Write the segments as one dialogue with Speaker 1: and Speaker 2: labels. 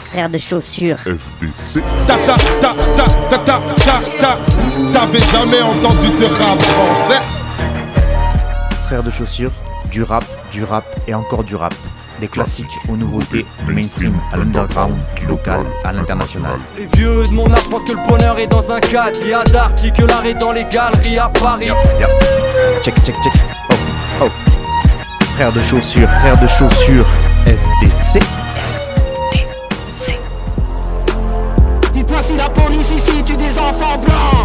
Speaker 1: frère de chaussures.
Speaker 2: FDC. T'avais jamais entendu de rap français?
Speaker 3: Frère de chaussures, du rap et encore du rap. Des classiques aux nouveautés, du mainstream à l'underground, du local à l'international.
Speaker 4: Les vieux de mon âge pensent que le bonheur est dans un cadre. Il y a d'arty que l'art est dans les galeries à Paris.
Speaker 3: Check. Oh. Frère de chaussures, FDC.
Speaker 5: Dites-moi si la police ici tue des enfants blancs.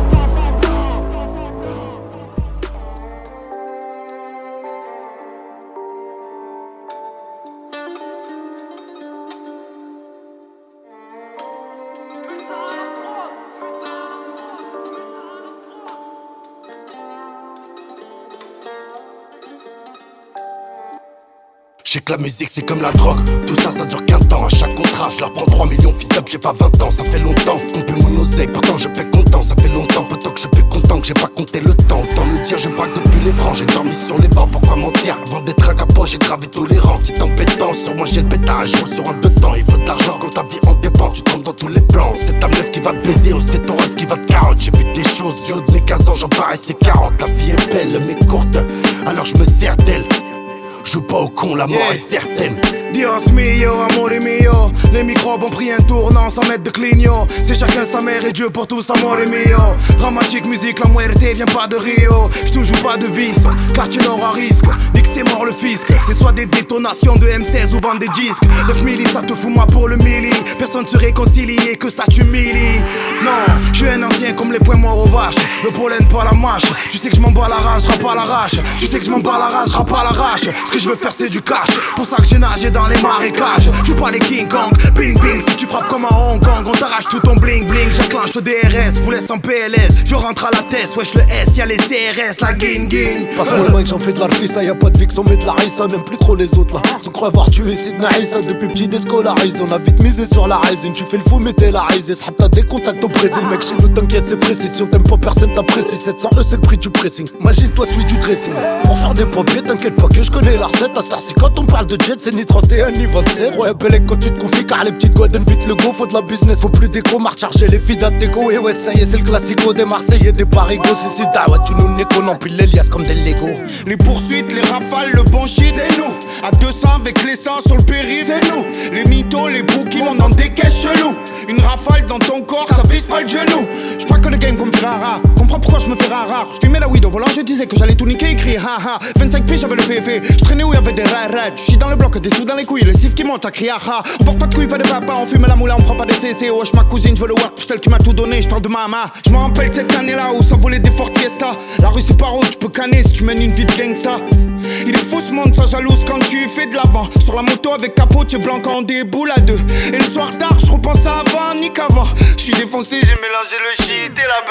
Speaker 6: Je sais que la musique c'est comme la drogue, tout ça ça dure qu'un temps. À chaque contrat je leur prends 3 millions, fils d'up j'ai pas 20 ans. Ça fait longtemps qu'on peut mon oseille, pourtant je fais content. Ça fait longtemps pourtant que je suis plus content que j'ai pas compté le temps. Autant le dire, je braque depuis les francs. J'ai dormi sur les bancs, pourquoi mentir? Avant d'être un capot j'ai gravé tolérant. Petite embêtance, sur moi j'ai le pétard, je roule sur un deux temps. Il faut de l'argent quand ta vie en dépend, tu tombes dans tous les plans. C'est ta meuf qui va te baiser ou c'est ton rêve qui va te carotte. J'ai vu des choses du haut de mes 15 ans, j'en paraissais 40. La vie est belle mais courte, alors je me sers d'elle. Joue pas au con, la mort est certaine.
Speaker 7: Dios mio, amore mio. Les microbes ont pris un tournant sans mettre de clignot. C'est chacun sa mère et Dieu pour tous, amore mio. Dramatique musique, la muerte vient pas de Rio. J'toujoue pas de vis, quartier nord à risque. Nique c'est mort le fisc. C'est soit des détonations de M16 ou vendre des disques. 9 milli, ça te fout moi pour le milli. Personne se réconcilie et que ça t'humilie. Non, je suis un ancien comme les poings morts aux vaches. Le pollen pas la mâche. Tu sais que je m'en bats la rage, je rappe à l'arrache. Tu sais que je m'en bats la rage, je rappe à l'arrache. Ce que je veux faire c'est du cash. Pour ça que j'ai nagé dans les marécages. Je joue pas les King Kong, bing bing. Si tu frappes comme à Hong Kong, on t'arrache tout ton bling bling. J'enclenche le DRS, vous laisse en PLS. Je rentre à la tête, wesh le S, y'a les CRS, la ging ging.
Speaker 8: Passe-moi le mic, j'en fais de l'arfissa. Y'a pas de fixe, on met de la rissa. N'aime plus trop les autres là. Se croit avoir tué Sidna Issa. Depuis petit déscolarisé, on a vite misé sur la résine. Tu fais le fou mais t'es la risée. S'hab t'as des contacts au Brésil. Mec chez nous t'inquiète c'est précis. Si on t'aime pas personne t'apprécie. 700 E c'est le prix du pressing. Imagine-toi celui du dressing. Pour faire des papiers t'inquiète pas que je connais la recette. À Star-ci quand on parle de jet c'est ni 31 ni 27. Ouais Belek quand tu te confies car les petites godes donnent vite le go. Faut de la business, faut plus d'écho. Marche charger les filles d'Ateco. Et ouais ça y est c'est le classico des Marseillais des Parigos. Si c'est dawa tu nous néco. Non puis les liasses comme des Lego.
Speaker 7: Les poursuites, les rafales, le bon shit, c'est nous. À 200 avec les 100 sur le périph', c'est nous. Les mythos, les bouquins, on dans des caisses chelous. Une rafale dans ton corps, ça vise pas le genou. J'prends que le game comme Ferrara. Comprends pourquoi je me fais rare. J'fumais la weed au volant, je disais que j'allais tout niquer, écrire haha. 25 piges, j'avais le féfé. J'traînais où y'avait des rares. Tu chies dans le bloc, des sous dans les couilles, le sif qui monte à crier haha. On porte pas de couilles, pas de papa, on fume la moula, on prend pas des CC. Wesh ma cousine, je veux le work pour celle qui m'a tout donné. J'parle de mama. J'me rappelle cette année-là où s'envolaient des Ford Fiesta. La rue c'est pas haut, tu peux canner si tu mènes une vie de gangsta. Il est fou ce monde, ça jalouse quand tu fais de l'avant. Sur la moto avec capot, tu es blanc quand on déboule à deux. Et le soir tard, je repense à avant, ni qu'avant. Je suis défoncé, j'ai mélangé le shit et la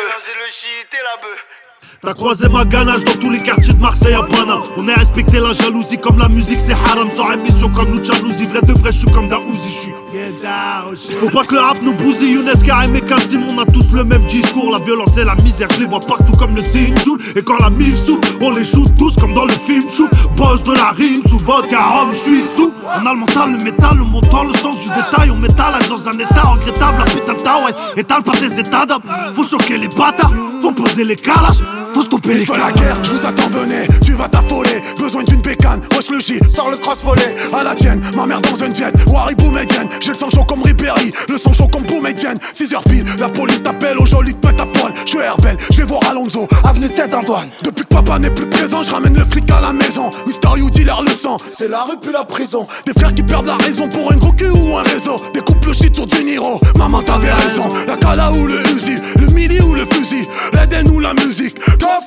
Speaker 7: bœuf.
Speaker 9: T'as croisé ma ganache dans tous les quartiers de Marseille à Paname. On a respecté la jalousie comme la musique c'est haram. Sans émission comme nous jalousie, vrai de vrai je suis comme Daouzi. Faut pas que le rap nous bousille. Younes, Karim et Kassim, on a tous le même discours. La violence et la misère, je les vois partout comme le Sinjoul. Et quand la mif souffle, on les joue tous comme dans le film Chou. Boss de la rime, sous vodka, rhum, je suis sous. On a le mental, le métal, le montant, le sens du détail. On m'étalage dans un état regrettable. La putain de ta ouais, étale par des états d'âme. Faut choquer les bâtards, faut poser les calages. Faut stopper les
Speaker 7: gars. La guerre, je vous attends, venez, tu vas t'affoler. Besoin d'une bécane, wesh le J, sors le cross volet. À la tienne, ma mère dans un jet, Wari Boumedienne. J'ai le sang chaud comme Ribéry, le sang chaud comme Boumedienne. 6h pile, la police t'appelle, au joli te pète à poil. Je suis Herbel, je vais voir Alonso, avenue de Saint-Antoine. Depuis que papa n'est plus présent, je ramène le flic à la maison. Mister You dealer le sang, c'est la rue puis la prison. Des frères qui perdent la raison pour un gros cul ou un réseau. Des couples shit sur du Niro, maman t'avais raison. La Kala ou le Uzi, le Mili ou le fusil, l'Eden ou la musique.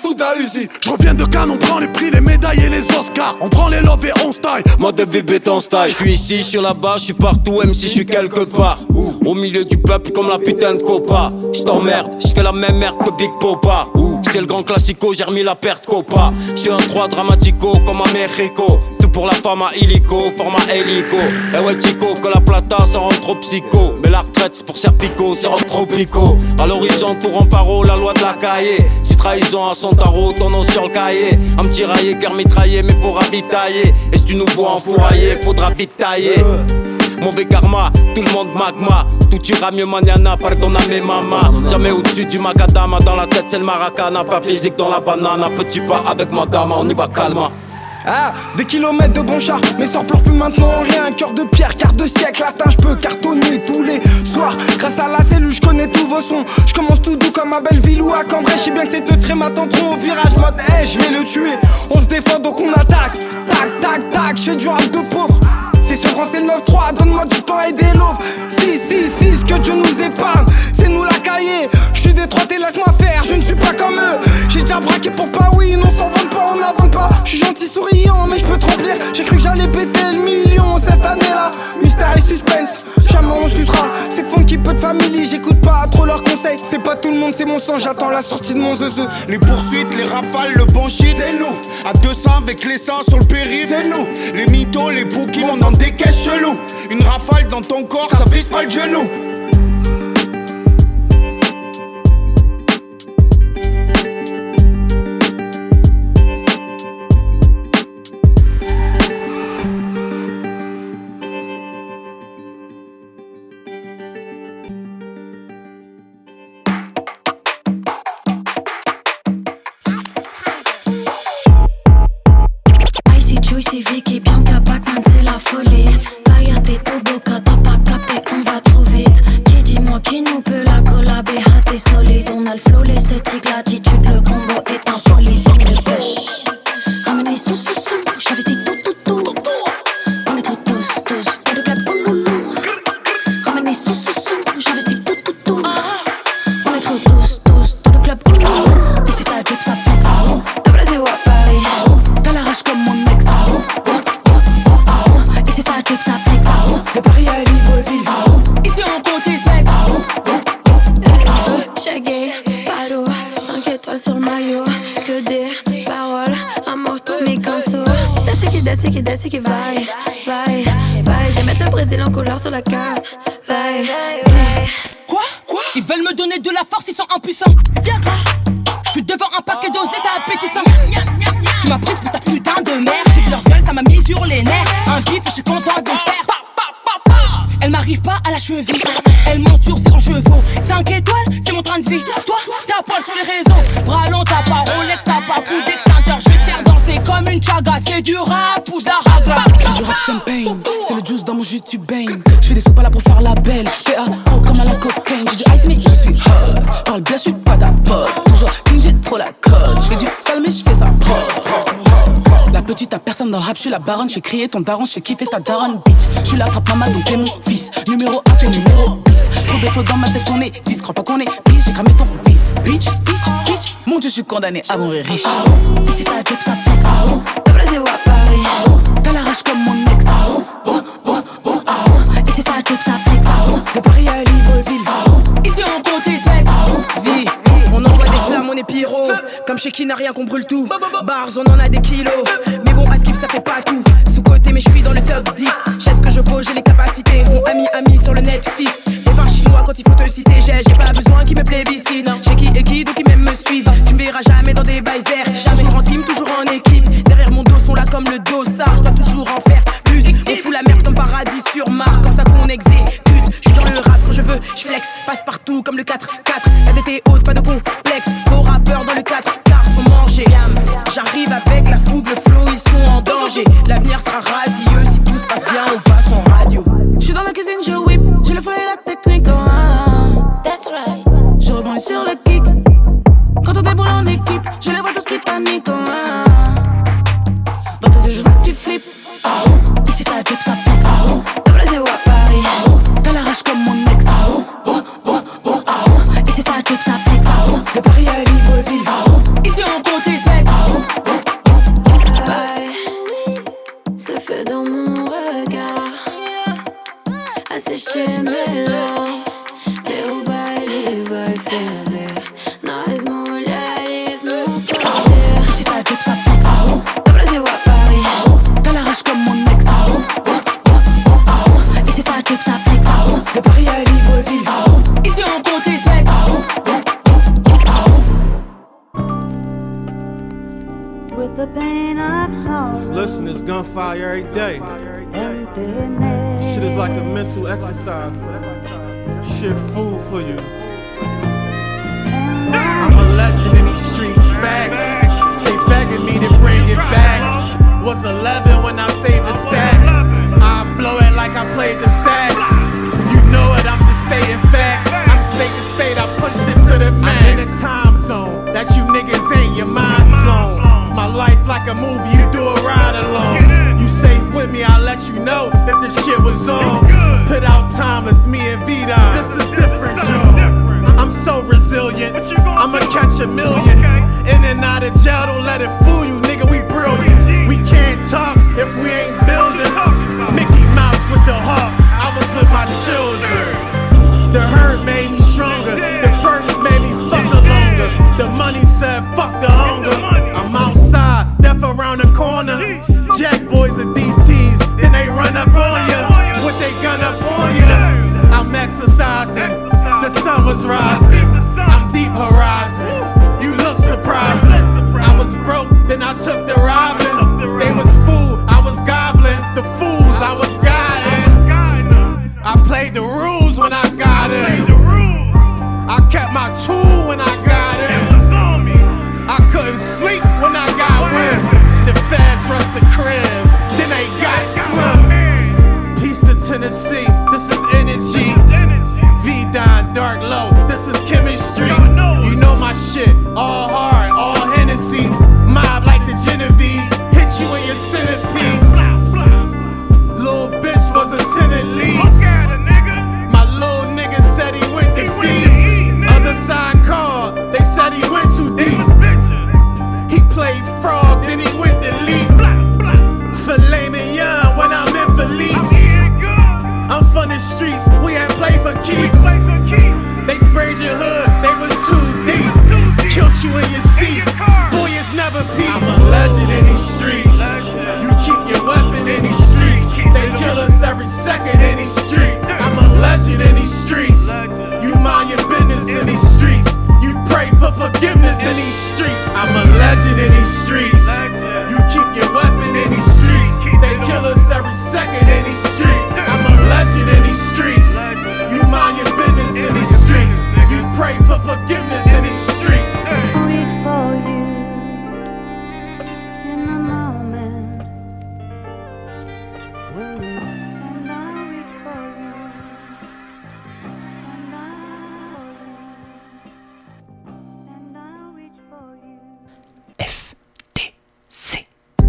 Speaker 7: Je reviens de Cannes, on prend les prix, les médailles et les Oscars. On prend les love et on style.
Speaker 4: Mode de vie béton style. Je suis ici, je suis là-bas, je suis partout, même si je suis quelque part. Au milieu du peuple comme la putain de copa. Je t'emmerde, je fais la même merde que Big Popa. C'est le grand classico, j'ai remis la perte copa. Je suis un 3 dramatico comme à Mexico. Tout pour la femme à illico, format hélico. Eh ouais Chico, que la plata ça rend trop psycho. Mais la retraite c'est pour Serpico, c'est rend trop pico. À l'horizon courant paro, la loi de la cahier. Si trahison à son tarot, ton nom sur le cahier. Un petit raillé, cœur mitraillé, mais faut ravitailler. Et si tu nous vois enfourailler, faudra vite tailler. mauvais karma, tout le monde magma. Tout ira mieux mañana, pardonname mama. Jamais au-dessus du macadama, dans la tête c'est le maracana. Pas physique dans la banane, petit pas avec madame, on y va calma.
Speaker 5: Ah, des kilomètres de bon char, mes sorts pleurent plus maintenant rien. Cœur de pierre, quart de siècle atteint, je peux cartonner tous les soirs. Grâce à la cellule, je connais tous vos sons. Je commence tout doux comme à Belleville ou à Cambrai. Je sais bien que ces deux traits m'attendent trop au virage. Mode, hey, je vais le tuer. On se défend donc on attaque. Tac, tac, tac, je fais du rap de pauvre. C'est sur France, c'est le 9-3, donne-moi du temps et des loaves. 6, que Dieu nous épargne. C'est nous la cahier. Je suis détroité, laisse-moi faire, je ne suis pas comme eux. J'ai déjà braqué pour pas oui, non s'en vante pas, on n'avance pas. Je suis gentil souriant, mais je peux te remplir. J'ai cru que j'allais péter le million cette année-là. Mystère et suspense, jamais on sucera. C'est funky, peu de famille, j'écoute pas trop leurs conseils. C'est pas tout le monde, c'est mon sang, j'attends la sortie de mon zeu.
Speaker 7: Les poursuites, les rafales, le bon shit, c'est nous. À 200 avec les seins sur le périph', c'est nous. Les mythos, les bookies, on dans des caisses chelous. Une rafale dans ton corps, ça vise pas le genou.
Speaker 1: Juicy, Vicky, Bianca, Pac-Man, c'est la folie. Kayate, Toboka, t'as pas capté, on va trop vite. Qui dis-moi qui nous peut la collaber, t'es solide. On a le flow, l'esthétique, l'attitude, le combo est impoli, c'est de pêche. Ramenez sous, j'investis tout. On est trop tous, dans le club, ouloulou. Ramenez sous, j'investis tout. On est trop tous, dans le club, ouloulou. Et si ça drip, ça flex. De Brésil à Paris, t'as la rage comme mon ex. Et si ça drip, ça flex.
Speaker 5: De Paris à Libreville,
Speaker 1: ici on compte les espèces. Cheguei, paro, 5 étoiles sur le maillot. Que des paroles, un moto, mi canso. Desce qui vai. J'ai mettre le Brésil en couleur sur la carte. Vai.
Speaker 10: Quoi? Ils veulent me donner de la force, ils sont impuissants. Je suis devant un paquet dosé, ça appétissant. Tu m'as prise pour ta putain de mère. J'ai vu leur gueule, ça m'a mis sur les nerfs. Un bif, je suis content de le faire. Elle m'arrive pas à la cheville. Elle monte sur ses grands chevaux. 5 étoiles, c'est mon train de vie. Toi, t'as poil sur les réseaux. Bras long, t'as pas Rolex, t'as pas coup d'extincteur. Je vais te faire danser comme une chaga. C'est du rap ou d'aragra.
Speaker 11: J'ai du rap champagne, c'est le juice dans mon jus, tu baignes. Je fais des soupes là pour faire la belle. PA, trop comme à la cocaine. J'ai du ice, mais je suis hot. Parle bien, je suis pas ta pote. Toujours clean, j'ai trop la cote. Je fais du sale, mais je fais ça propre. La petite à personne dans le rap, je suis la baronne. Je fais crier ton daron, je fais kiffer ta daronne, bitch. Je suis la trappe maman, donc t'es mon fils. Numéro 1, t'es numéro 10. Trop de flots dans ma tête, on est 10. Crois pas qu'on est bitch, j'ai cramé ton fils. Bitch. Mon dieu, je suis condamné à mourir riche.
Speaker 1: Et si ça drip, ça flex. De Brésil à Paris,
Speaker 11: t'as la rage comme mon ex.
Speaker 1: Et si ça drip, ça flex.
Speaker 11: De Paris à Libreville,
Speaker 10: ici on compte les espèces.
Speaker 5: Vie, on envoie des flammes, on est pyro. Comme chez qui n'a rien qu'on brûle tout. Bars, on en a des kilos. Mais bon, à skip, ça fait pas tout. Sous-côté, mais je suis dans le top 10. J'ai ce que je vaux, j'ai les capacités. Font ami sur le net, fils. Les bars chinois quand il faut te citer. J'ai pas besoin qu'ils me plébiscitent. J'ai qui et qui, donc ils même me suivent. Tu me verras jamais dans des baisers. Toujours en team, toujours en équipe. Derrière mon dos sont là comme le dossard. Je dois toujours en faire plus. On fout la merde comme paradis sur Mars. Comme ça qu'on exécute. Je suis dans le rap quand je veux, je flex. Passe partout comme le 4-4. La tête est haute, pas de complexe. Vos rappeurs dans le 4 quarts sont mangés. J'arrive avec la fougue, le flow, ils sont en danger. L'avenir sera radieux, si tout se passe bien, on passe en radio.
Speaker 11: Je suis dans la cuisine, je whip. J'ai le flow et la technique,
Speaker 1: That's right.
Speaker 11: Je rebondis sur le kick. Quand on déboule en équipe, je les vois tous qui paniquent, Dans tes yeux, je veux que tu flippes.
Speaker 1: Et si ça drip, ça flex. De Brésil à Paris,
Speaker 11: t'as la rage comme mon ex.
Speaker 1: Et si ça drip, ça flex.
Speaker 5: De Paris à Libreville,
Speaker 10: ici on compte les espèces.
Speaker 1: Bye. Ce feu dans mon regard asséché mes larmes. Meu baile vai ferver. Nós mulheres no poder. E si ça drip, ça flex. Do Brasil à Paris,
Speaker 11: t'as la rage comme mon ex.
Speaker 1: Et si ça drip, ça flex.
Speaker 5: de Paris à Libreville,
Speaker 10: ici on compte les espèces.
Speaker 12: With the pain of sorrow,
Speaker 2: Listen, it's gunfire every day.
Speaker 12: emptiness. shit is like a mental exercise, man. Shit food for you. I'm a legend in these streets, facts. They begging me to bring it back. Was 11 when I saved the stack. I blow it like I played the sax. You know it, I'm just stating facts. I'm state to state, I pushed it to the max. I'm in a time zone that you niggas ain't, your mind's blown. My life like a movie, you do a ride alone. You safe with me, I'll let you know if this shit was on. Put out time, it's me and Vida. This is different, y'all. I'm so resilient, I'ma catch a million. In and out of jail, don't let it fool you, nigga, we brilliant. We can't talk if we ain't building. Mickey Mouse with the hawk, I was with my children. The hurt made me stronger, the perk made me fuck longer. The money said fuck the hunger. I'm outside, death around the corner. Jack boys and DTs, then they run up on ya. With they gun up on ya. I'm exercising, the sun was rising. I'm deep horizon, you look surprising. I was broke, then I took the robbing. They was fool, I was gobbling. The fools, I was guiding. I played the rules when I got in. I kept my tool when I got in. I couldn't sleep when I got in. The fast rushed the crib, then they got slim. Peace to Tennessee, this is energy. V-Dine, dark low, this is chemistry. You know my shit, all hard, all Hennessy. Mob like the Genovese, hit you in your centerpiece. Little bitch was a tenant lease. My little nigga said he went to feast. Other side called, they said he went too deep. He played frog, then he went to leap. Filet mignon when I'm in Philippe's. I'm from the streets, we ain't play for keeps. They sprayed your hood, they was too deep. Killed you in your seat, boy it's never peace. I'm a legend in these streets. You keep your weapon in these streets. They kill us every second in these streets. I'm a legend in these streets. You mind your business in these streets. You pray for forgiveness in these streets. I'm a legend in these streets. You keep your weapon in these streets. They kill us every second in these streets. I'm a legend in these streets. You mind your business in these streets. You pray for forgiveness in these streets.
Speaker 13: Wait for you in the moment. And I'll wait for you. And I'll wait for you.
Speaker 11: FTC.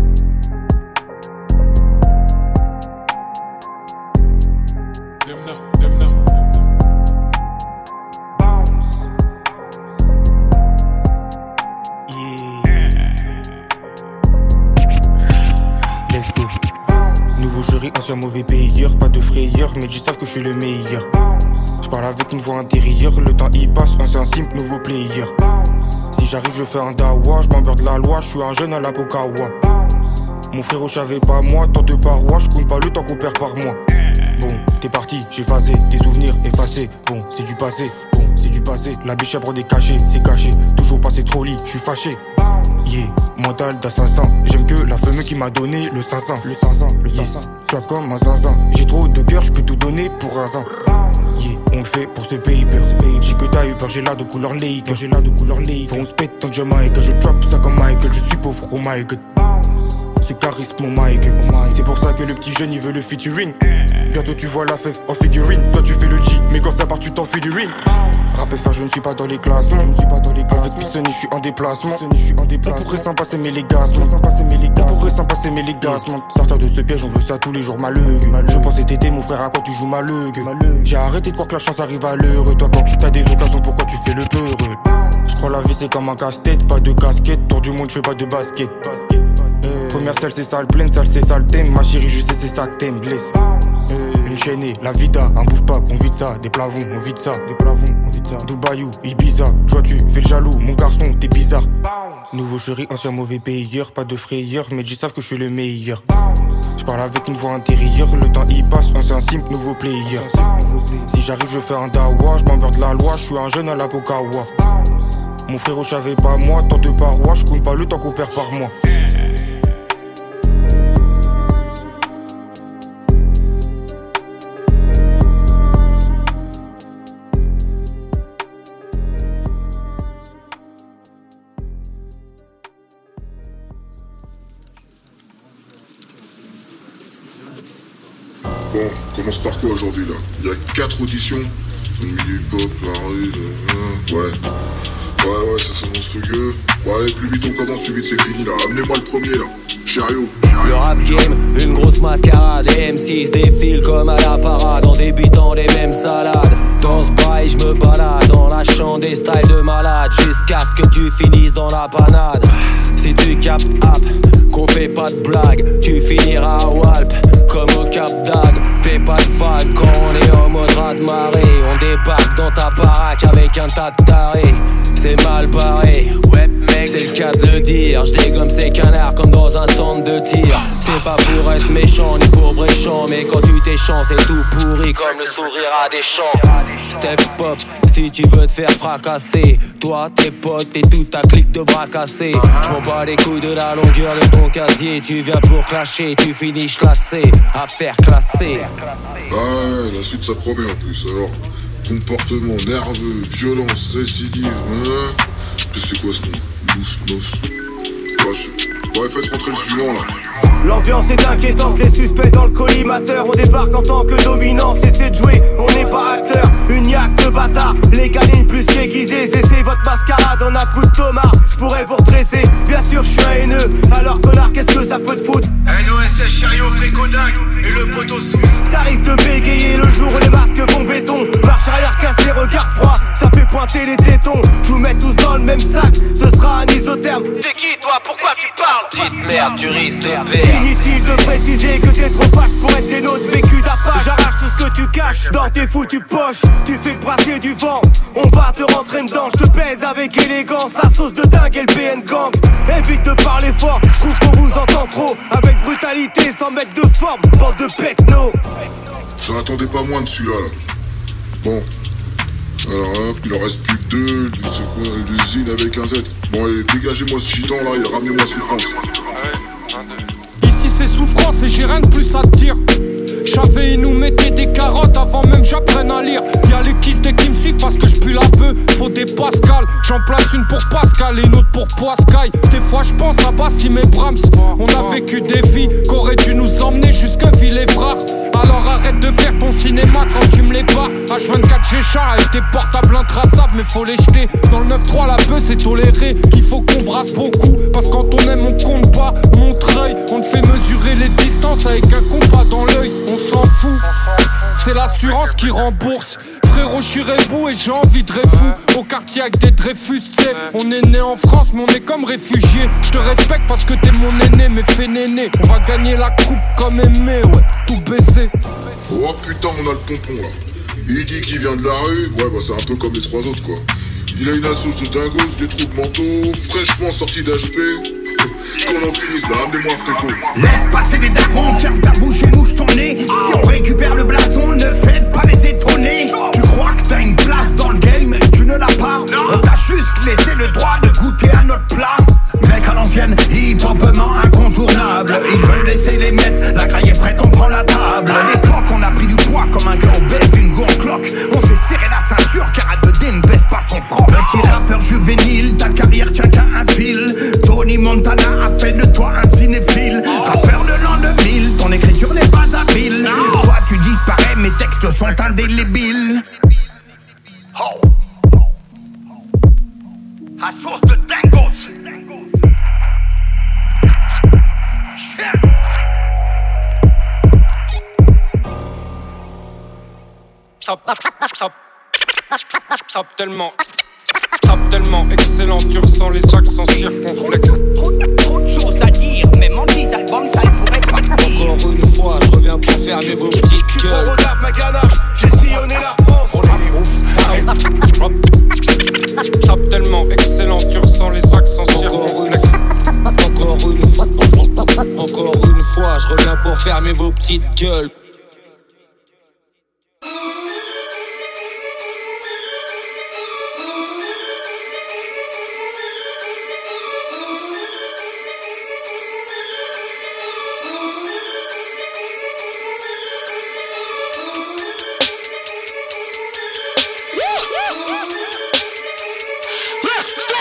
Speaker 14: Nouveau jury, ancien mauvais payeur, pas de frayeur, mais ils savent que je suis le meilleur. Je parle avec une voix intérieure, le temps y passe, ancien simple, nouveau player. Si j'arrive, je fais un dawa, je m'emmerde la loi, je suis un jeune à la Pokawa. Mon frérot, j'avais pas moi, tant de parois, je compte pas le temps qu'on perd par mois. Bon, t'es parti, j'ai phasé, des souvenirs effacés. Bon, c'est du passé, la biche à des cachets, c'est caché. Toujours passé trop lit, je suis fâché. Yeah, mental d'assassin. J'aime que la femme qui m'a donné le 500. Yes, trap comme un zinzin. J'ai trop de cœur, je peux tout donner pour un zin. Yeah, on le fait pour ce paper. J'ai que t'as eu peur, j'ai la de couleur Laker. Faut on se pète tant que Jamaïque. Je trap ça comme Michael, je suis pauvre, oh my god. C'est charisme mon Mike. C'est pour ça que le petit jeune il veut le featuring. Bientôt tu vois la fève en figurine. Toi tu fais le G, mais quand ça part tu t'enfuis du ring. Rap FR, je ne suis pas dans les classements. Avec Pissonné, je suis en déplacement. On pourrait s'en passer mais les gassements. Sortir de ce piège, on veut ça tous les jours malheureux. Je pensais t'aider mon frère, à quoi tu joues malheureux. J'ai arrêté de croire que la chance arrive à l'heure. Toi quand t'as des occasions, pourquoi tu fais le peureux? Je crois la vie c'est comme un casse-tête, pas de casquette. Tour du monde, je fais pas de basket. Première salle c'est sale pleine, salle c'est sale thème. Ma chérie je sais c'est ça que t'aimes, blesse. Une chaînée, la vida, un bouffe pas, qu'on vide ça. Des plavons, on vide ça. Dubaïou, Ibiza, toi tu fais le jaloux. Mon garçon, t'es bizarre. Nouveau chéri, ancien mauvais payeur. Pas de frayeur, mais ils savent que je suis le meilleur. Je parle avec une voix intérieure. Le temps y passe, ancien simple, nouveau player. Si j'arrive je fais un dawa. Je m'emmerde la loi, je suis un jeune à la Pokawa. Mon frérot, j'avais pas moi, tant de parois. Je compte pas le temps qu'on perd par mois.
Speaker 2: Bon, on commence par quoi aujourd'hui là? Il y a 4 auditions. Milieu hip-hop, la rue, ouais, ça c'est monstrueux. Bon allez, plus vite on commence, plus vite c'est fini là. Amenez-moi le premier là, chariot.
Speaker 15: Le rap game, une grosse mascarade. Les M6 défilent comme à la parade en débutant les mêmes salades. Dans ce bail, je me balade dans la chambre des styles de malade jusqu'à ce que tu finisses dans la panade. Si tu captes app, qu'on fait pas de blague, tu finiras à Walp comme au Cap d'Agde. Fais pas de vague quand on est en mode raz-de-marée. On débarque dans ta baraque avec un tas de tarés. C'est mal barré, ouais mec, c'est le cas de le dire. J'dégomme ces canards comme dans un stand de tir. C'est pas pour être méchant ni pour bréchant, mais quand tu t'échanges c'est tout pourri comme le sourire à des champs. Step up, si tu veux te faire fracasser. Toi, tes potes et toute ta clique de bras cassés. J'm'en bats les couilles de la longueur de ton casier. Tu viens pour clasher, tu finis classé. Affaire classée.
Speaker 2: Ah ouais, la suite ça promet en plus. Alors, comportement nerveux, violence, récidive, hein. C'est quoi ce nom? Mousse. Ouais, faites rentrer le suivant là.
Speaker 5: L'ambiance est inquiétante, les suspects dans le collimateur. On débarque en tant que dominant, cessez de jouer, on n'est pas acteur. Une yaque de bâtard, les canines plus qu'aiguisées. C'est votre mascarade en un coup de tomard. J'pourrais vous redresser, bien sûr je suis un haineux. Alors connard, qu'est-ce que ça peut te foutre? NOSS, chariot, fricodingue et le poteau sous. Ça risque de bégayer le jour où les masques vont béton. Marche arrière cassée, regard froid, ça fait pointer les tétons. J'vous mets tous dans le même sac, ce sera un isotherme. T'es qui toi, pourquoi tu parles?
Speaker 15: Petite merde, tu risques de perdre.
Speaker 5: Inutile de préciser que t'es trop fâche pour être des nôtres vécus d'Apache. J'arrache tout ce que tu caches dans tes foutues poches. Tu fais que brasser du vent, on va te rentrer dedans. Je te pèse avec élégance, à sauce de dingue et le PN gang. Évite de parler fort, je trouve qu'on vous entend trop. Avec brutalité, sans mettre de forme, bande de pecno.
Speaker 2: J'en attendais pas moins de celui-là là. Bon. Alors hop, il en reste plus que 2, c'est quoi, l'usine avec un Z. Bon allez, dégagez-moi ce gitan là et ramenez-moi souffrance.
Speaker 16: Ici c'est souffrance et j'ai rien de plus à te dire. J'avais, ils nous mettaient des carottes avant même j'apprenne à lire. Y'a les kistes qui me suivent parce que j'pue la bœuf. Faut des Pascal, j'en place une pour Pascal et une autre pour Poiscaille. Des fois j'pense à Bassim et Brahms. On a vécu des vies qu'auraient dû nous emmener jusqu'à Villefrare. Alors arrête de faire ton cinéma quand tu me les barres. H24 j'ai chat avec tes portables intraçables, mais faut les jeter. Dans le 9-3 la bœuf c'est toléré. Il faut qu'on brasse beaucoup, parce que quand on aime on compte pas. Montreuil, on te fait mesurer les distances avec un compas dans l'œil. On s'en fout, c'est l'assurance qui rembourse. Frérot, j'suis rebou et j'ai envie de refou. Au quartier avec des Dreyfus, t'sais. On est né en France, mais on est comme réfugiés. J'te respecte parce que t'es mon aîné, mais fais néné. On va gagner la coupe comme Aimé, ouais, tout baisser.
Speaker 2: Oh putain, on a le pompon là. Il dit qu'il vient de la rue, ouais bah c'est un peu comme les 3 autres quoi. Il a une assoce de dingos, des troubles mentaux, fraîchement sorti d'HP. Qu'on en finisse là, amenez-moi un fréco.
Speaker 17: Laisse passer les darons, ferme ta bouche et mouche ton nez. Si on récupère le blason, ne faites pas les étonner. Tu crois que t'as une place dans le game, tu ne l'as pas. On t'a juste laissé le droit de goûter à notre plat. Mec à l'ancienne, hip-hopement incontournable. Ils veulent laisser les mettre, la graille est prête, on prend la table. À l'époque, on a pris du poids comme un gars obèse, une go en cloque. On s'est serré la ceinture car A2D ne baisse pas son franc. Petit rappeur juvénile, ta carrière tient qu'à un fil. Tony Montana a fait de toi un cinéphile. Rappeur de l'an 2000, ton écriture n'est pas habile. Toi tu disparais, mes textes sont indélébiles. Oh. À sauce de dingos.
Speaker 16: Tellement excellent, tu ressens les accents circonflexes.
Speaker 17: Trop de choses à dire, même en 10 albums ça ne pourrait pas dire.
Speaker 15: Encore une fois, je reviens pour fermer vos petites gueules.
Speaker 7: Trop rodave ma ganache, j'ai sillonné la France.
Speaker 16: Chap tellement excellent, tu ressens les accents circonflexes.
Speaker 15: Encore une fois, je reviens pour fermer vos petites gueules.
Speaker 17: Let's go!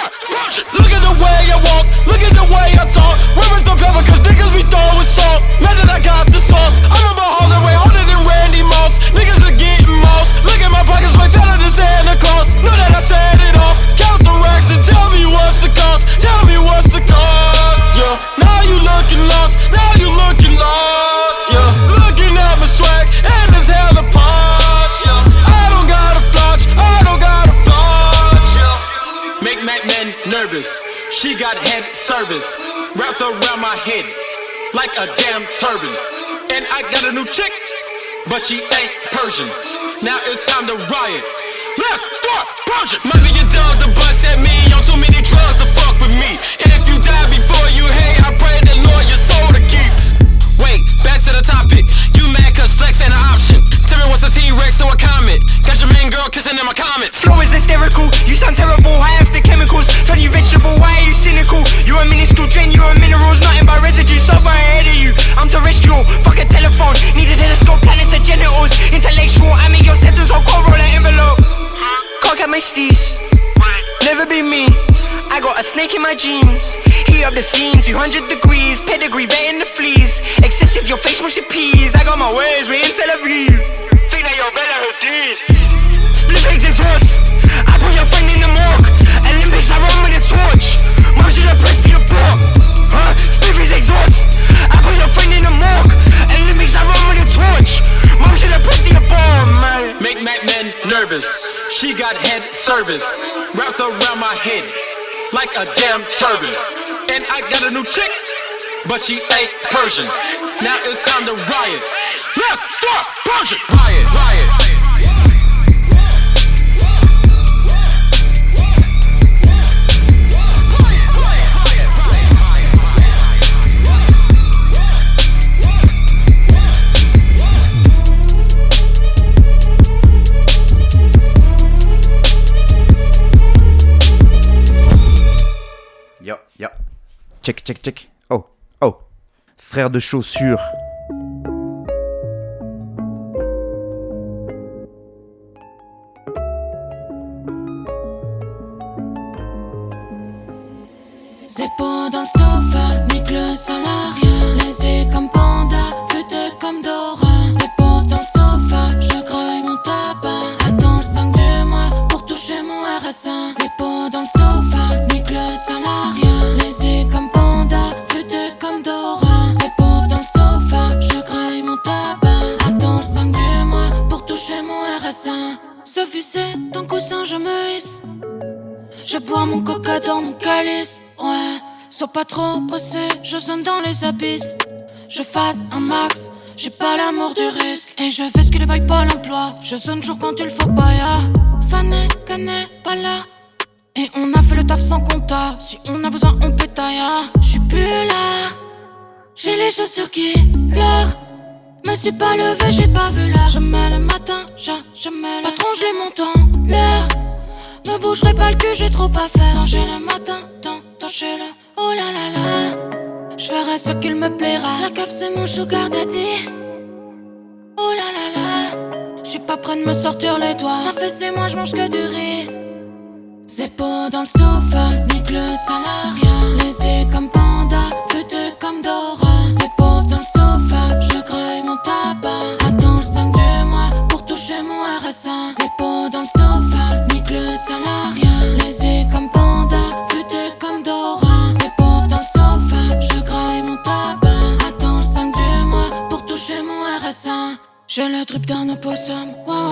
Speaker 4: start, punch it. Look at the way I walk, look at the way I talk. Where is the pepper, cause niggas be throwing salt. Man that I got the sauce, I'm about holding way harder than Randy Moss. Niggas are getting moss, look at my pockets way fatter than Santa Claus. Know that I said it off, count the racks and tell me what's the cost. Tell me what's the cost, yeah. Now you looking lost, now you looking lost, yeah. Looking at my swag, and it's hella posh, yeah. I don't gotta flash, I don't gotta flash, yeah. Make Mac Man nervous, she got head service. Wraps around my head like a damn turban. And I got a new chick, but she ain't Persian. Now it's time to riot, let's start purging. Might be your dog to bust at me on too many drugs to fuck with me. And if you die before you hate, I pray the Lord your soul to keep. Wait, back to the topic. You mad cause flex ain't an option. Tell me what's the T-Rex to a comet. Got your main girl kissing in my comments.
Speaker 18: Flow is hysterical, you sound terrible, high off the chemicals. Turn you vegetable, why are you cynical? You're a minuscule drain, you're a minerals. Nothing but residue, so far ahead of you. I'm terrestrial, fuck a telephone. Need a telescope, planets and genitals. Intellectual, I'm in your sentence, I'll cover an envelope. Can't get my steez, never be me. I got a snake in my jeans. Heat up the scene, 200 degrees. Pedigree, vetting the fleas. Excessive, your face mushy peas. I got my ways, we in Tel Aviv. Think that you're better who did. Split legs exhaust. I put your friend in the morgue. Olympics, I run with a torch. Mom should have pressed your port. Huh? Split legs exhaust. I put your friend in the morgue. Olympics, I run with a torch. Mom should have pressed your bomb, man.
Speaker 4: Make Mac Man nervous, she got head service. Wraps around my head like a damn turban. And I got a new chick, but she ain't Persian. Now it's time to riot, let's start purging. Riot, riot.
Speaker 3: Yo. Check. Oh. Frère de chaussures.
Speaker 1: C'est pas dans le sofa, nique le salarié. Laissé comme panda, feuté comme Dora. C'est pas dans le sofa, je graille mon tabac. Attends le 5 du mois pour toucher mon RSA. C'est pas dans le sofa, nique le salarié. Laissé comme panda, feuté comme Dora. C'est pas dans le sofa, je graille mon tabac. Attends le 5 du mois pour toucher mon RSA. Sophie, c'est ton coussin, je me hisse. Je bois mon coca dans mon calice, ouais. Sois pas trop pressé, je sonne dans les abysses. Je fasse un max, j'ai pas l'amour du risque. Et je fais ce que les bails pas l'emploi. Je sonne toujours quand il faut pas, ya. Fané, cané, pas là. Et on a fait le taf sans compta. Si on a besoin, on pétaille, ya. J'suis plus là. J'ai les chaussures qui pleurent. Me suis pas levé, j'ai pas vu l'heure. Je mets le matin, je mets le patron, je les monte en l'air. Me bougerai pas le cul, j'ai trop à faire. Danger le matin, danger le oh là là là. J'ferai ce qu'il me plaira. La cave c'est mon sugar daddy. Oh là là là. J'suis pas près de me sortir les doigts. Ça fait 6 mois j'mange que du riz. C'est pas dans le sofa, nique le salariat. Laissé comme panda, feuté comme Dora. C'est pas dans le sofa, je graille mon tabac. Attends le 5 du mois pour toucher mon RSA. C'est pas dans le sofa, nique le salariat. Laissé comme panda, feuté comme Dora. C'est pas dans le sofa, je graille mon tabac. Attends le 5 du mois pour toucher mon RSA. J'ai le drip d'un opossum,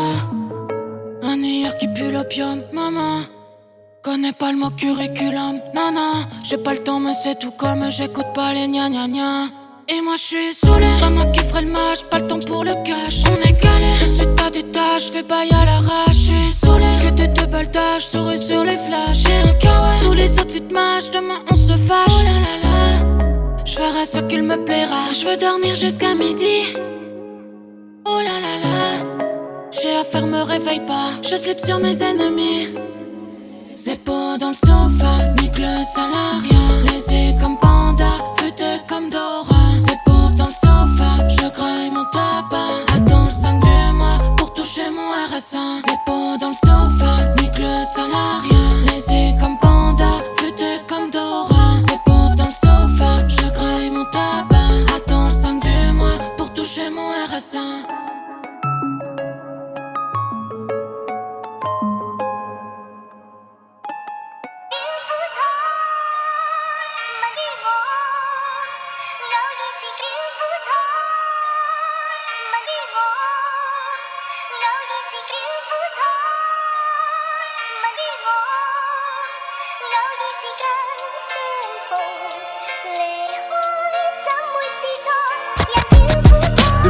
Speaker 1: ouais. Un hier qui pue l'opium, maman. Connais pas le mot curriculum, non, j'ai pas le temps mais c'est tout comme j'écoute pas les gna gna gna. Et moi j'suis saoulé, pas moi qui ferai le match, pas le temps pour le cash. On est calé, ensuite t'as des tâches, fais bail à l'arrache. J'suis saoulé, que des double dash, souris sur les flashs. J'ai un kawaii, tous les autres fit match, demain on se fâche. Oh là là là, j'ferai ce qu'il me plaira. J'veux dormir jusqu'à midi. Oh là là là, j'ai affaire, me réveille pas, je slip sur mes ennemis. C'est pas dans le sofa, nique le salariat. Laissé comme panda, feuté comme Dora. C'est pas dans le sofa, je graille mon tabac. Attends le 5 du mois pour toucher mon RSA. C'est pas dans le sofa, nique le salariat. Laissé comme panda,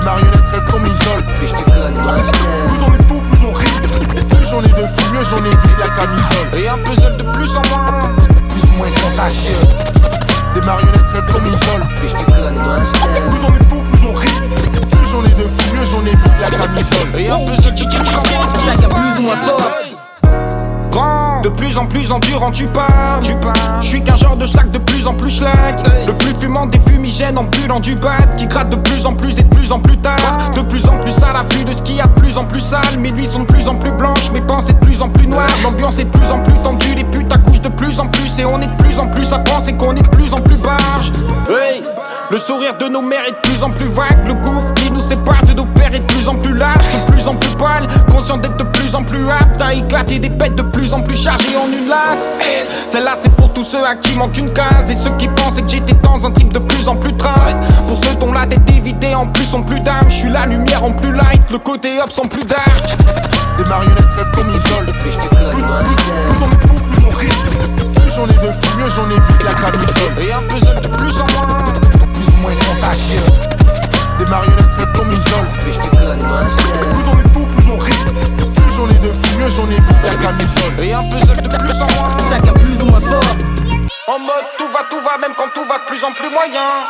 Speaker 8: Les marionnettes rêvent qu'on m'isole.
Speaker 19: Plus je te connais, moins je t'aime.
Speaker 8: Plus on est fou, plus on rit. Plus j'en ai de fou, mieux j'en évite la camisole.
Speaker 6: Et un puzzle de plus en moins,
Speaker 8: plus ou moins contagieux. Les marionnettes rêvent qu'on m'isole.
Speaker 19: Plus je te connais, moins je t'aime.
Speaker 8: Plus on est fou, plus on rit. Plus j'en ai de fou, mieux j'en évite la camisole.
Speaker 6: Et un puzzle de plus en moins,
Speaker 19: chacun plus ou moins fort.
Speaker 5: De plus en plus endurant tu parles. Je suis qu'un genre de schlag de plus en plus schlag. Le plus fumant des fumigènes ambulant du bat, qui gratte de plus en plus et de plus en plus tard. De plus en plus à l'affût de ce qu'il y a de plus en plus sale. Mes nuits sont de plus en plus blanches, mes pensées de plus en plus noires. L'ambiance est de plus en plus tendue, les putes accouchent de plus en plus. Et on est de plus en plus à penser qu'on est de plus en plus barge. Hey, le sourire de nos mères est de plus en plus vague. Le gouffre qui nous sépare de nos pères est de plus en plus large. De plus en plus pâle, conscient d'être de plus en plus apte à éclater des pètes de plus en plus chargées en une latte. Celle-là c'est pour tous ceux à qui manque une case. Et ceux qui pensaient que j'étais dans un trip de plus en plus trad. Pour ceux dont la tête est vidée en plus sont plus d'âme. Je suis la lumière en plus light, le côté up sans plus dark.
Speaker 8: Les marionnettes rêvent qu'on m'isole.
Speaker 19: Plus je te connais, moins je t'aime.
Speaker 8: Plus on est fou, plus on rit. Plus j'en ai de fou, mieux j'en évite la camisole.
Speaker 6: Et un puzzle de plus en moins,
Speaker 8: plus ou moins contagieux. Les marionnettes rêvent qu'on m'isole.
Speaker 19: Plus je te connais, moins je t'aime.
Speaker 8: Plus on est fou, plus on rit. Plus j'en ai de fou, mieux j'en évite la camisole.
Speaker 6: Et un puzzle de plus en moins,
Speaker 19: chacun plus ou moins fort.
Speaker 5: En mode tout va, même quand tout va de plus en plus moyen.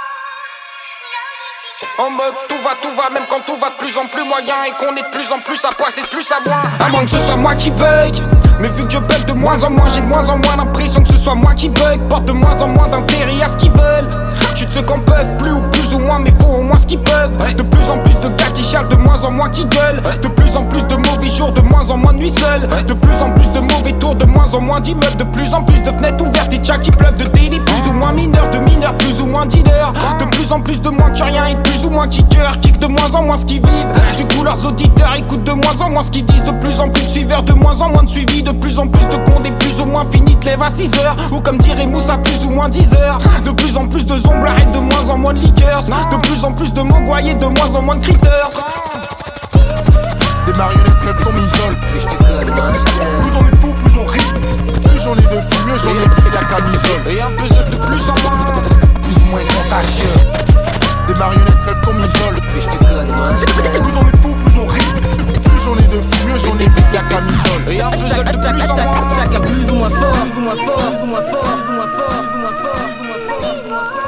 Speaker 5: En mode tout va, même quand tout va de plus en plus moyen. Et qu'on est de plus en plus à poids, c'est de plus à moins. À moins que ce soit moi qui bug. Mais vu que je bug de moins en moins, j'ai de moins en moins l'impression que ce soit moi qui bug. Porte de moins en moins d'intérêt à ce qu'ils veulent. Je suis de ceux qu'on peuvent plus ou moins, mais faut au moins ce qu'ils peuvent. De plus en plus de gars qui chialent, de moins en moins qui gueulent. De plus en plus de mauvais jours, de moins en moins de nuits seules. De plus en plus de mauvais tours, de moins en moins d'immeubles. De plus en plus de fenêtres ouvertes et tchats qui pleuvent. De délits plus ou moins mineurs, de mineurs plus ou moins dealers. De plus en plus de moins que rien et de plus ou moins kickers. Kick de moins en moins ce qu'ils vivent. Du coup leurs auditeurs écoutent de moins en moins ce qu'ils disent. De plus en plus de suiveurs, de moins en moins de suivi. De plus en plus de condés, plus ou moins finis, te lève à 6h. Ou comme dirait Moussa, plus ou moins 10h. De plus en plus de zombies, arrête de moins en moins de liqueurs. De plus en plus de mongoyés, de moins en moins de critters.
Speaker 8: Les marionnettes rêvent qu'on m'isole.
Speaker 19: Plus je te connais, moins je t'aime.
Speaker 8: Plus on est fou, plus on rit. Plus j'en ai de fou, mieux j'en évite la camisole.
Speaker 6: et un puzzle de plus en moins,
Speaker 8: plus ou moins contagieux. Les marionnettes rêvent qu'on m'isole.
Speaker 19: Plus je te connais, moins je t'aime.
Speaker 8: Plus on est fou, plus on rit. Plus j'en ai de fou, mieux j'en évite la camisole.
Speaker 6: et un puzzle de plus en moins,
Speaker 19: chacun plus ou moins fort, plus ou moins fort, plus ou moins fort, plus ou moins fort, plus ou moins fort, plus ou moins fort, plus ou moins fort.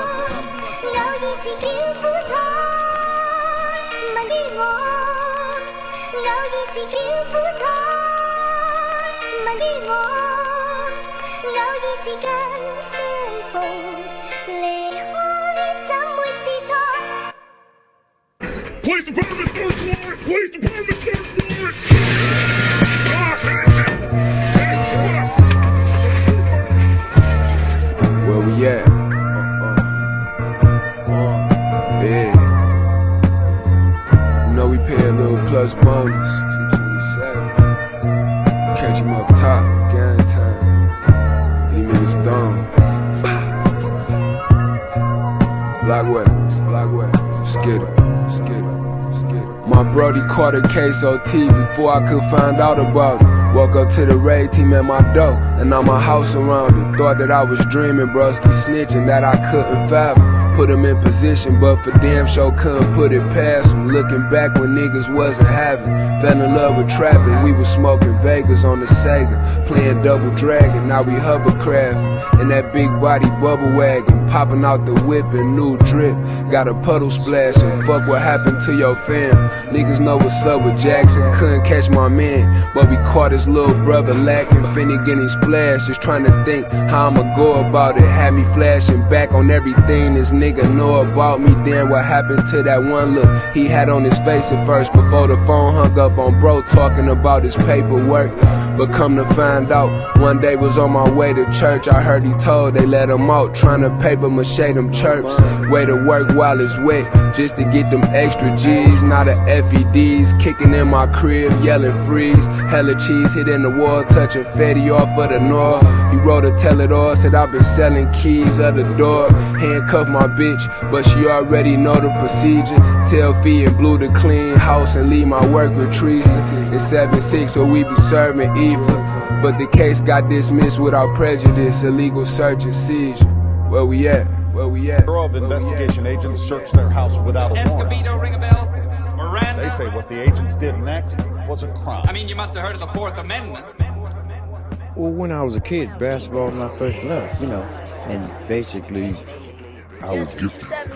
Speaker 9: Police department, third floor! Police department, third floor!
Speaker 20: Where we at? Yeah. You know we pay a little plus bonus. 227. Catch him up top, gang time. Hit him in the stone. Black weapons, skittle. My brody caught a case OT before I could find out about it. Woke up to the raid team at my door, and now my house surrounded. Thought that I was dreaming, broski snitching that I couldn't fathom. Put him in position, but for damn sure couldn't put it past him. Looking back when niggas wasn't having. Fell in love with trapping, we was smoking Vegas on the Sega. Playing Double Dragon, now we hovercrafting. In that big body bubble wagon, popping out the whip and new drip. Got a puddle splashing, fuck what happened to your fam. Niggas know what's up with Jackson, couldn't catch my man. But we caught his little brother lacking, finna getting splashed. Just trying to think how I'ma go about it. Had me flashing back on everything this nigga know about me. Damn, what happened to that one look he had on his face at first before the phone hung up on bro talking about his paperwork. But come to find out, one day was on my way to church. I heard he told they let him out, trying to paper mache them chirps. Way to work while it's wet, just to get them extra G's. Now the FEDs kicking in my crib, yelling freeze. Hella cheese hitting the wall, touching Fetty off of the north. He wrote a tell it all, said I've been selling keys of the door. Handcuff my bitch, but she already know the procedure. Tell Fee and Blue to clean house and leave my work with Teresa. It's 7-6, so we be serving But the case got dismissed without prejudice. Illegal search and seizure. Where we at? Where we at?
Speaker 21: Bureau of Investigation agents searched their house without a warrant.
Speaker 22: Escobedo, ring a bell? Miranda?
Speaker 21: They say what the agents did next was a crime.
Speaker 22: I mean, you must have heard of the Fourth Amendment.
Speaker 23: Well, when I was a kid, basketball was my first love, you know, and basically,
Speaker 2: I was gifted. I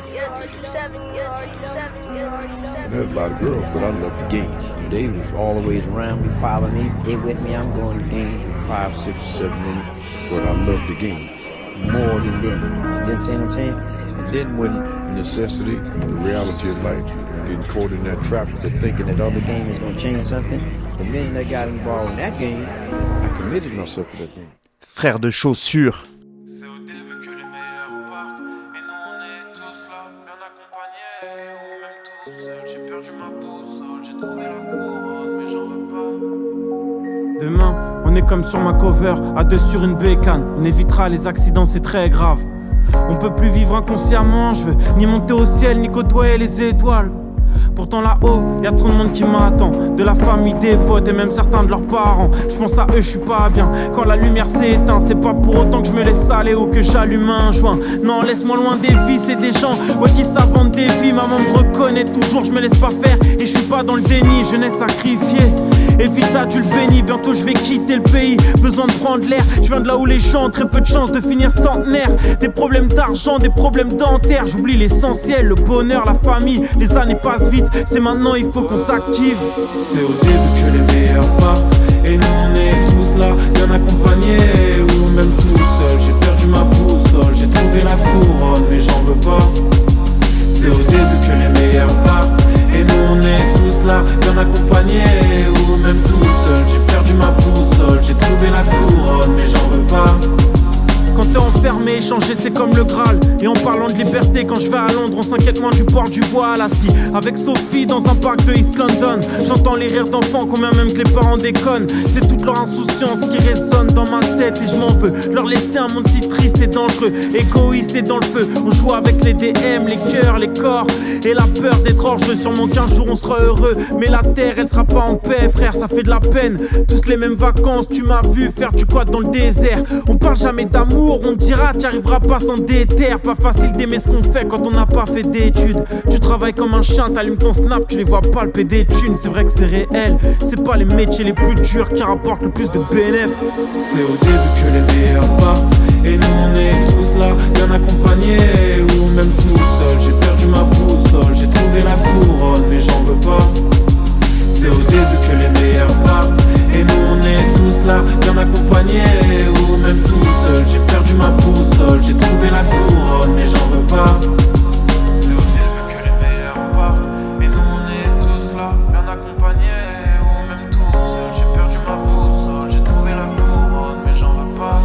Speaker 2: had a lot of girls, but I loved the game.
Speaker 23: They was always around me, following me, they with me, I'm going to the game 5, 6, 7 minutes,
Speaker 2: but I loved the game.
Speaker 23: More than them. You understand what I'm saying?
Speaker 2: And then when necessity, the reality of life, getting caught in that trap,
Speaker 23: thinking that other game is going to change something, the minute I got involved in that game, I committed myself to that game.
Speaker 3: Frère de chaussures.
Speaker 16: C'est au début que les meilleurs partent, et nous on est tous là, bien accompagnés, ou même tout seul. J'ai perdu ma boussole, j'ai trouvé la couronne, mais j'en veux pas. Demain, on est comme sur ma cover, à deux sur une bécane. On évitera les accidents, c'est très grave. On peut plus vivre inconsciemment, je veux ni monter au ciel, ni côtoyer les étoiles. Pourtant là-haut, y'a trop de monde qui m'attend. De la famille, des potes et même certains de leurs parents. Je pense à eux, je suis pas bien. Quand la lumière s'éteint, c'est pas pour autant que je me laisse aller ou que j'allume un joint. Non, laisse-moi loin des vices et des gens qui s'inventent des vies. Maman me reconnaît toujours, je me laisse pas faire. Et je suis pas dans le déni, jeunesse sacrifiée. Et vite adulte béni, bientôt je vais quitter le pays. Besoin de prendre l'air, je viens de là où les gens ont très peu de chance de finir centenaire. Des problèmes d'argent, des problèmes dentaires. J'oublie l'essentiel, le bonheur, la famille. Les années passent vite, c'est maintenant il faut qu'on s'active. C'est au début que les meilleurs partent, et nous on est tous là, bien accompagnés, ou même tout seul. J'ai perdu ma boussole, j'ai trouvé la couronne, mais j'en veux pas. C'est au début que les meilleurs partent, et nous on est tous là, bien accompagnés, ou même tout seul. J'ai perdu ma boussole, j'ai trouvé la couronne, mais j'en veux pas. Quand t'es enfermé, échanger c'est comme le Graal. Et en parlant de liberté, quand je vais à Londres, on s'inquiète moins du port du voile. Assis avec Sophie dans un parc de East London, j'entends les rires d'enfants, combien même que les parents déconnent. C'est toute leur insouciance qui résonne dans ma tête et je m'en veux. Leur laisser un monde si triste et dangereux, égoïste et dans le feu. On joue avec les DM, les cœurs, les corps et la peur d'être hors-jeu. Sûrement qu'un jour on sera heureux, mais la terre elle sera pas en paix, frère, ça fait de la peine. Tous les mêmes vacances, tu m'as vu faire du quad dans le désert. On parle jamais d'amour, on te dira t'y arriveras pas sans déter. Pas facile d'aimer ce qu'on fait quand on n'a pas fait d'études. Tu travailles comme un chien, t'allumes ton snap, tu les vois palper des thunes. C'est vrai que c'est réel, c'est pas les métiers les plus durs qui rapportent le plus de bénéfices. C'est au début que les meilleurs partent, et nous on est tous là, bien accompagnés, ou même tout seul. J'ai perdu ma boussole, j'ai trouvé la couronne, mais j'en veux pas. C'est au début que les meilleurs partent, et nous on est tous là, bien accompagnés, ou même tout seul. J'ai perdu ma boussole, j'ai trouvé la couronne, mais j'en veux pas. C'est au début que les meilleurs partent, et nous on est tous là, bien accompagnés, ou même tout seul. J'ai perdu ma boussole, j'ai trouvé la couronne, mais j'en veux pas.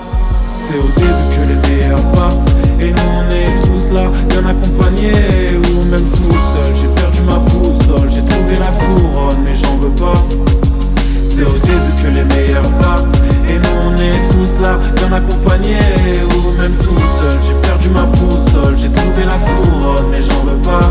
Speaker 16: C'est au début que les meilleurs partent, et nous on est tous là, bien accompagnés, ou même tout seul. J'ai perdu ma boussole, j'ai trouvé la couronne, mais j'en veux pas. C'est au début que les meilleurs partent, et nous on est tous là, bien accompagnés, ou même tout seul. J'ai perdu ma boussole, j'ai trouvé la couronne, mais j'en veux pas.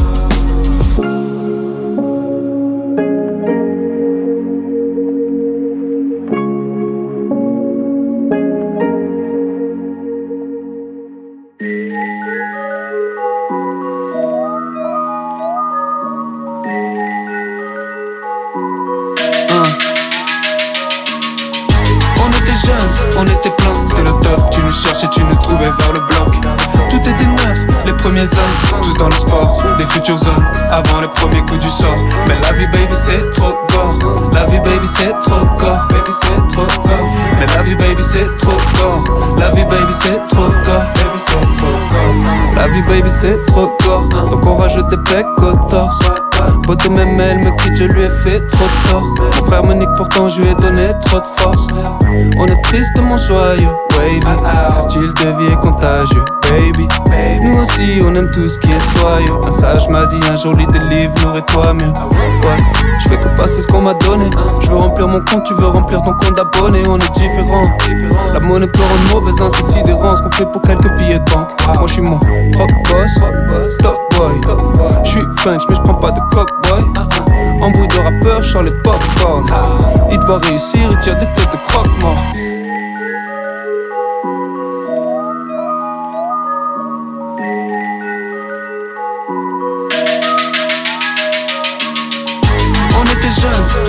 Speaker 24: On était plein, c'était le top. Tu nous cherchais, tu nous trouvais vers le bloc. Tout était neuf, les premiers hommes, tous dans le sport, des futurs hommes, avant les premiers coups du sort. Mais la vie baby c'est trop gore. La vie baby c'est trop gore. Baby c'est trop gore. Mais la vie baby c'est trop gore. La vie baby c'est trop gore. Baby c'est trop gore. La vie baby c'est trop gore. Donc on rajoute des becs au torse. Pote même elle me quitte, je lui ai fait trop de tort. Mon frère me nique, pourtant je lui ai donné trop de force. On est tristement joyeux, wavy. Ce style de vie est contagieux, baby. Nous aussi on aime tout ce qui est soyeux. Un sage m'a dit un jour lis des livres, nourris-toi mieux. Ouais, je fais que passer ce qu'on m'a donné. Je veux remplir mon compte, tu veux remplir ton compte d'abonnés. On est différents. La monnaie peut rendre mauvaise, hein, c'est sidérant ce qu'on fait pour quelques billets de banque. Moi je suis mon propre boss, top boy. Je suis French mais je prends pas de cock boy. Embrouille de rappeur, je sors les popcorn. Il doit réussir, il tire des têtes de croque-mort.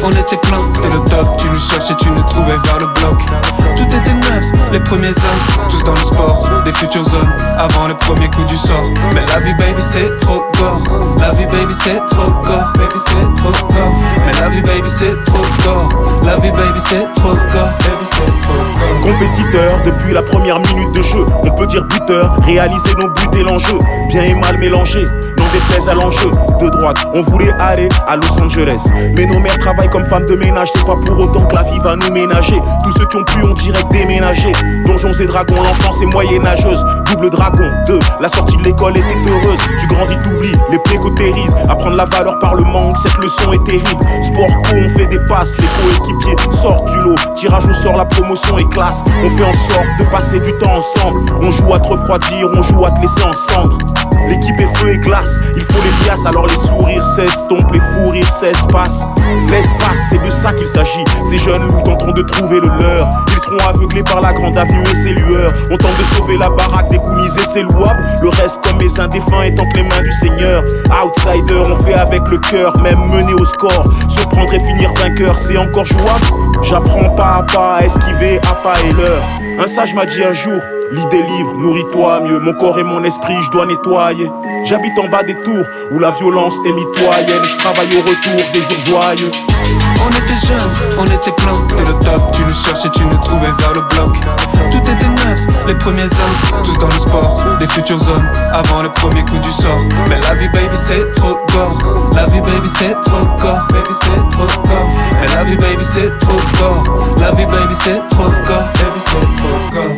Speaker 24: on était plein, c'était le top. Tu nous cherchais, tu nous trouvais vers le bloc. Tout était neuf, les premiers hommes, tous dans le sport, des futures zones, avant le premier coup du sort. Mais la vie baby c'est trop gore, la vie baby c'est trop gore, baby c'est trop gore. Mais la vie baby c'est trop gore, la vie baby c'est trop gore, baby c'est trop gore.
Speaker 10: Compétiteur depuis la première minute de jeu, on peut dire buteur, réaliser nos buts et l'enjeu, bien et mal mélangé, non déplaise à l'enjeu. De droite, on voulait aller à Los Angeles, mais nos mères travaillent comme femmes de ménage, c'est pas pour autant que la vie va nous ménager. Tous ceux qui ont pu ont direct déménagé, Donjons et Dragons, l'enfance est moyenâgeuse. Double dragon, 2, la sortie de l'école était heureuse. Tu grandis, t'oublies, les plaies cautérises. Apprendre la valeur par le manque, cette leçon est terrible. Sport co, on fait des passes, les coéquipiers sortent du lot. Tirage au sort, la promotion est classe. On fait en sorte de passer du temps ensemble. On joue à te refroidir, on joue à te laisser en cendre. L'équipe est feu et glace, il faut les liasses, alors les sourires s'estompent, les fous rires s'espacent. L'espace, c'est de ça qu'il s'agit. Ces jeunes loups tenteront de trouver le leur. Ils seront aveuglés par la grande avenue et ses lueurs. On tente de sauver la baraque, dégouniser c'est louable. Le reste comme mes indéfunts est entre les mains du Seigneur. Outsider, on fait avec le cœur, même mener au score. Surprendre et finir vainqueur, c'est encore jouable. J'apprends pas à pas à esquiver à pas et l'heure. Un sage m'a dit un jour, lis des livres, nourris-toi mieux. Mon corps et mon esprit, je dois nettoyer. J'habite en bas des tours où la violence est mitoyenne. Je travaille au retour des jours joyeux.
Speaker 24: On était jeunes, on était plein, c'était le top. Tu nous cherchais, tu nous trouvais vers le bloc. Tout était neuf, les premiers hommes, tous dans le sport, des futures zones, avant le premier coup du sort. Mais la vie baby c'est trop gore, la vie baby c'est trop gore, baby c'est trop gore. Mais la vie baby c'est trop gore, la vie baby c'est trop gore, baby c'est trop gore.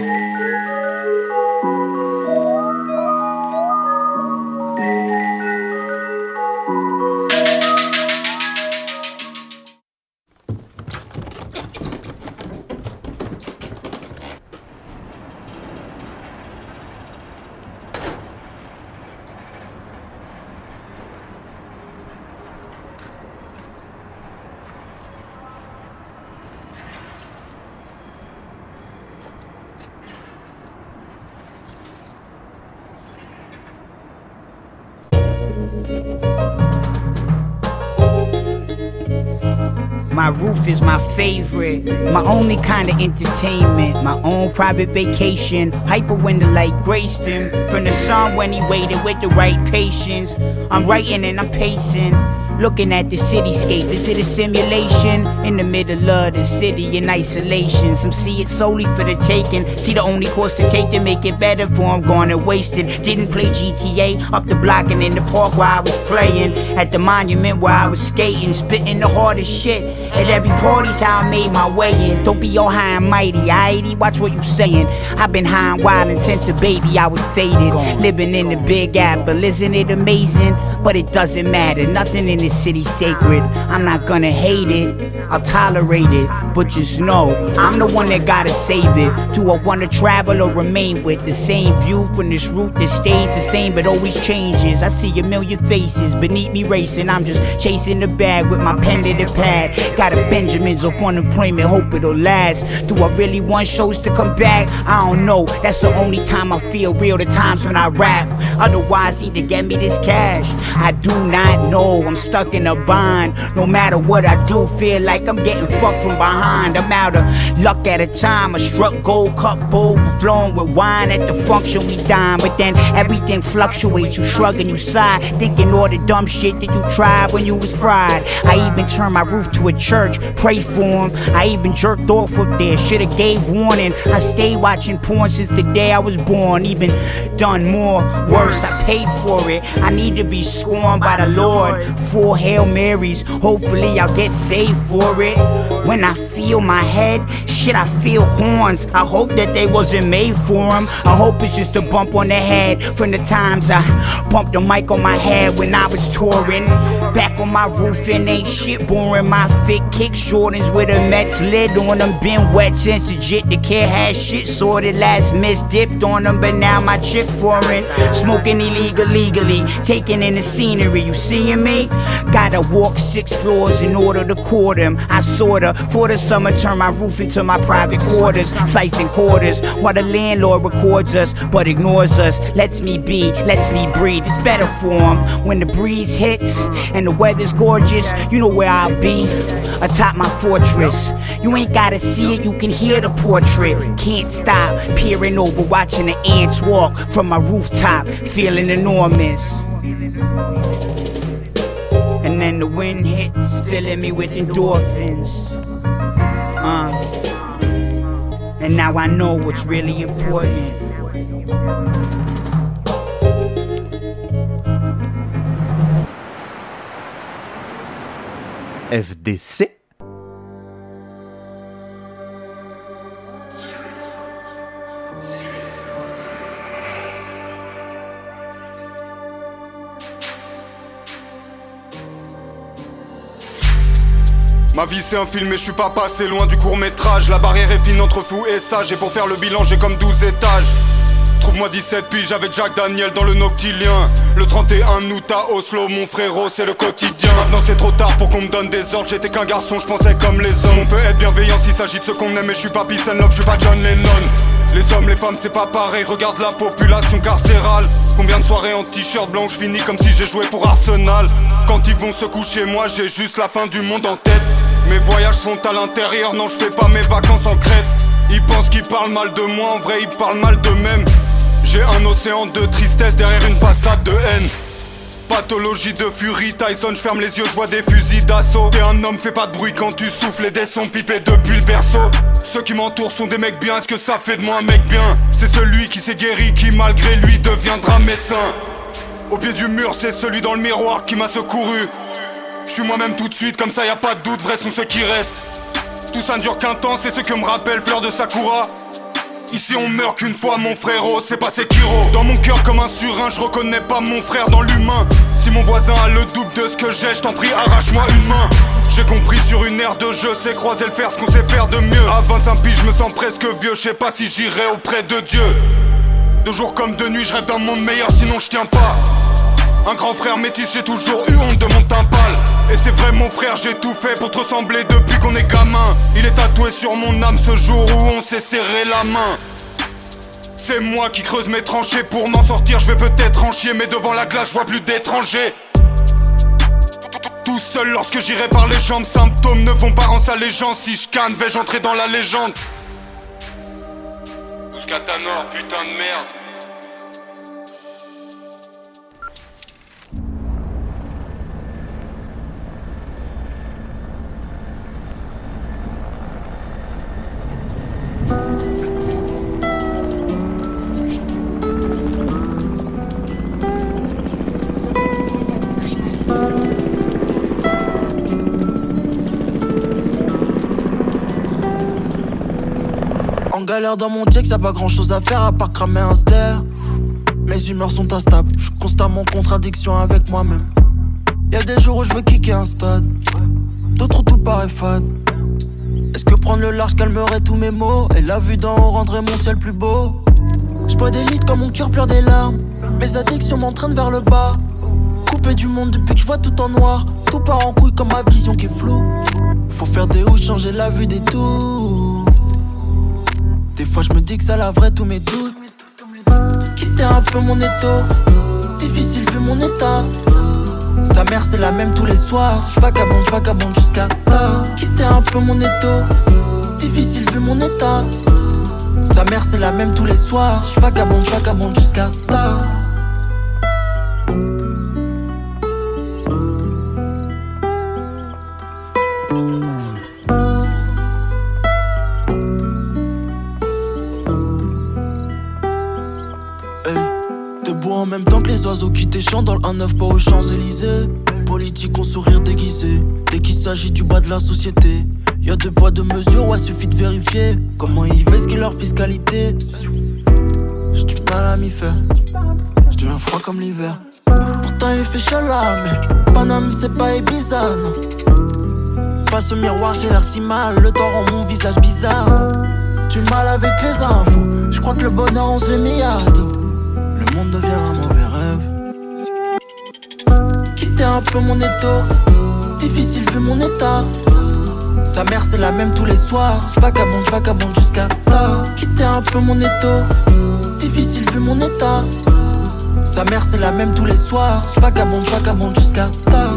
Speaker 11: My roof is my favorite, my only kind of entertainment, my own private vacation. Hyper when the light graced him from the sun when he waited with the right patience. I'm writing and I'm pacing, looking at the cityscape. Is it a simulation? In the middle of the city in isolation. Some see it solely for the taking. See the only course to take to make it better for them gone and wasted. Didn't play GTA up the block and in the park where I was playing. At the monument where I was skating, spitting the hardest shit. At every party's how I made my way in. Don't be all high and mighty, aighty, watch what you saying. I've been high and wildin' since a baby I was faded. Living in the Big Apple, isn't it amazing? But it doesn't matter, nothing in this city's sacred. I'm not gonna hate it, I'll tolerate it. But just know, I'm the one that gotta save it. Do I wanna travel or remain with the same view from this route that stays the same but always changes? I see a million faces beneath me racing. I'm just chasing the bag with my pen to the pad. Got a Benjamins off unemployment, hope it'll last. Do I really want shows to come back? I don't know, that's the only time I feel real, the times when I rap. Otherwise, need to get me this cash. I do not know, I'm stuck in a bind. No matter what I do, feel like I'm getting fucked from behind. I'm out of luck at a time. I struck gold cup bowl, flowing with wine at the function we dine. But then everything fluctuates, you shrug and you sigh, thinking all the dumb shit that you tried when you was fried. I even turned my roof to a church, pray for him. I even jerked off up there, should've gave warning. I stayed watching porn since the day I was born. Even done more, worse, I paid for it. I need to be scorned by the Lord. 4 Hail Marys, hopefully I'll get saved for it. When I feel my head, shit, I feel horns. I hope that they wasn't made for them. I hope it's just a bump on the head from the times I bumped the mic on my head when I was touring. Back on my roof and ain't shit boring. My fit kick Jordans with a Mets lid on them. Been wet since the jit, the kid had shit sorted. Last miss dipped on them, but now my chick foreign. Smoking illegal, legally, taking in the scenery, you seeing me? Gotta walk 6 floors in order to court him. I sorta, for the summer, turn my roof into my private quarters, siphon quarters, while the landlord records us, but ignores us. Lets me be, lets me breathe. It's better for him when the breeze hits and the weather's gorgeous. You know where I'll be, atop my fortress. You ain't gotta see it, you can hear the portrait. Can't stop, peering over, watching the ants walk from my rooftop, feeling enormous. And then the wind hits, filling me with endorphins. And now I know what's really important.
Speaker 3: FDC.
Speaker 7: Ma vie c'est un film et je suis pas passé loin du court-métrage. La barrière est fine entre fou et sage, et pour faire le bilan j'ai comme 12 étages. Trouve-moi 17 piges avec Jack Daniel dans le Noctilien. Le 31 août à Oslo, mon frérot, c'est le quotidien. Maintenant c'est trop tard pour qu'on me donne des ordres. J'étais qu'un garçon, je pensais comme les hommes. On peut être bienveillant s'il s'agit de ceux qu'on aime, mais je suis pas peace and love, je suis pas John Lennon. Les hommes, les femmes, c'est pas pareil, regarde la population carcérale. Combien de soirées en t-shirt blanc, je finis comme si j'ai joué pour Arsenal. Quand ils vont se coucher, moi j'ai juste la fin du monde en tête. Mes voyages sont à l'intérieur, non je fais pas mes vacances en Crète. Ils pensent qu'ils parlent mal de moi, en vrai ils parlent mal d'eux-mêmes. J'ai un océan de tristesse derrière une façade de haine. Pathologie de furie, Tyson, je ferme les yeux, je vois des fusils d'assaut. T'es un homme, fais pas de bruit quand tu souffles, les dés sont pipés depuis le berceau. Ceux qui m'entourent sont des mecs bien, est-ce que ça fait de moi un mec bien? C'est celui qui s'est guéri, qui malgré lui deviendra médecin. Au pied du mur, c'est celui dans le miroir qui m'a secouru. Je suis moi-même tout de suite, comme ça y a pas de doute, vrais sont ceux qui restent. Tout ça ne dure qu'un temps, c'est ce que me rappelle Fleur de Sakura. Ici on meurt qu'une fois mon frérot, c'est pas Sekiro. Dans mon cœur comme un surin, je reconnais pas mon frère dans l'humain. Si mon voisin a le double de ce que j'ai, je t'en prie arrache-moi une main. J'ai compris sur une aire de jeu, c'est croiser le fer, ce qu'on sait faire de mieux. À 25 piges, je me sens presque vieux, je sais pas si j'irai auprès de Dieu. De jour comme de nuit, je rêve d'un monde meilleur, sinon je tiens pas. Un grand frère métis, j'ai toujours eu honte de mon timpal. Et c'est vrai mon frère, j'ai tout fait pour te ressembler depuis qu'on est gamin. Il est tatoué sur mon âme ce jour où on s'est serré la main. C'est moi qui creuse mes tranchées, pour m'en sortir je vais peut-être en chier. Mais devant la glace je vois plus d'étrangers. Tout seul lorsque j'irai par les jambes, symptômes ne font pas en ça les gens. Si je canne, vais-je entrer dans la légende? Ouscatanor, putain de merde.
Speaker 12: En galère dans mon check, y'a pas grand chose à faire à part cramer un ster. Mes humeurs sont instables, je suis constamment en contradiction avec moi-même. Y'a des jours où je veux kicker un stade, d'autres où tout paraît fade. Est-ce que prendre le large calmerait tous mes maux, et la vue d'en haut rendrait mon ciel plus beau? J'bois des litres quand mon cœur pleure des larmes, mes addictions m'entraînent vers le bas. Coupé du monde depuis que je vois tout en noir, tout part en couille comme ma vision qui est floue. Faut faire des hauts, changer la vue des tours. Des fois je me dis que ça laverait tous mes doutes. Quitter un peu mon étau, difficile vu mon état. Sa mère c'est la même tous les soirs. Je vagabonde jusqu'à tard. Quitter un peu mon étau, difficile vu mon état. Sa mère c'est la même tous les soirs. Je vagabonde jusqu'à tard. En même temps que les oiseaux qui t'échantent dans le 1-9 pas aux Champs-Élysées. Politique au sourire déguisé, dès qu'il s'agit du bas de la société. Y'a 2 poids 2 mesures, ouais suffit de vérifier comment ils ce qu'est leur fiscalité. J'ai du mal à m'y faire, je deviens froid comme l'hiver. Pourtant il fait chaud là, mais Paname c'est pas Ibiza, non. Face au miroir j'ai l'air si mal, le temps rend mon visage bizarre. Du mal avec les infos, je crois que le bonheur on se l'est mis à dos. Le monde devient un mauvais rêve. quitter un peu mon étau. Difficile vu mon état. Sa mère c'est la même tous les soirs. J'vagabonde jusqu'à tard. Quitter un peu mon étau. Difficile vu mon état. Sa mère c'est la même tous les soirs. J'vagabonde jusqu'à tard.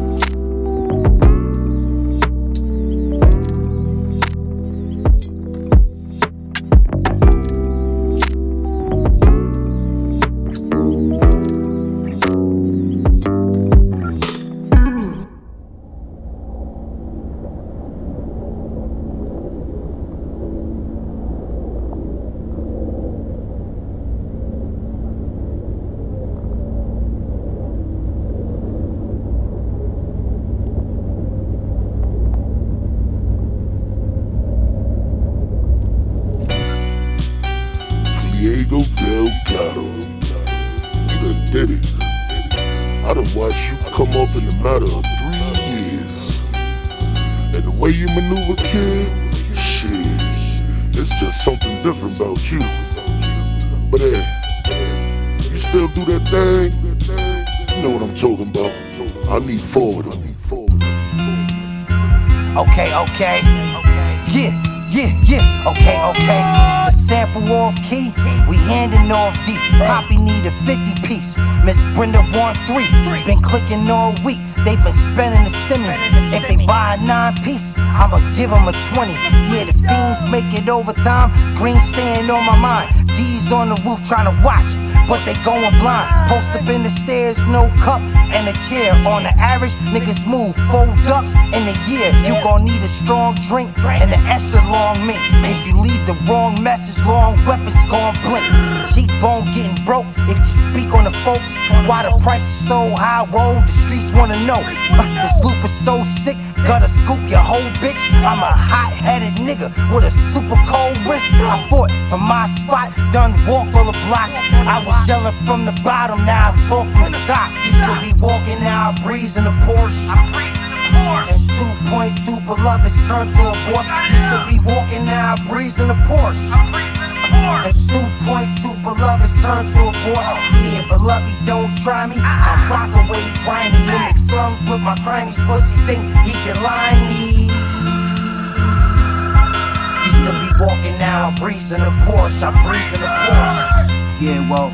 Speaker 2: Diego Delgado, you done did it. I done watched you come up in a matter of 3 years. And the way you maneuver, kid, shit, it's just something different about you. But hey, you still do that thing? You know what I'm talking about. I need forward.
Speaker 13: Okay. Yeah. Okay. The sample off key, we handing off deep. Poppy need a 50 piece. Miss Brenda want 3. Been clicking all week. They been spending the stimmy. If they buy a 9-piece, I'ma give them a 20. Yeah, the fiends make it overtime. Green staying on my mind. D's on the roof trying to watch, but they going blind. Post up in the stairs, no cup and a chair. On the average, niggas move 4 ducks in a year. You gon' need a strong drink and an extra long mint. If you leave the wrong message, long weapons gon' blink. Cheekbone getting broke if you speak on the folks. Why the price is so high, whoa, the streets wanna know. This loop is so sick, gotta scoop your whole bitch. I'm a hot-headed nigga with a super cold wrist. I fought for my spot, done walk all the blocks. I was yelling from the bottom, now I talk from the top. Used to be walking, now I breeze in the Porsche. And 2.2 beloveds turned to a boss. Used to be walking, now I breeze in the Porsche. And 2.2 beloveds turned to a boss. Yeah, beloved, don't try me. I rock away grimy in the slums with my crimies. Pussy think he can lie me. Used to be walking, now I breeze in the Porsche. I breeze in the Porsche.
Speaker 14: Yeah, well,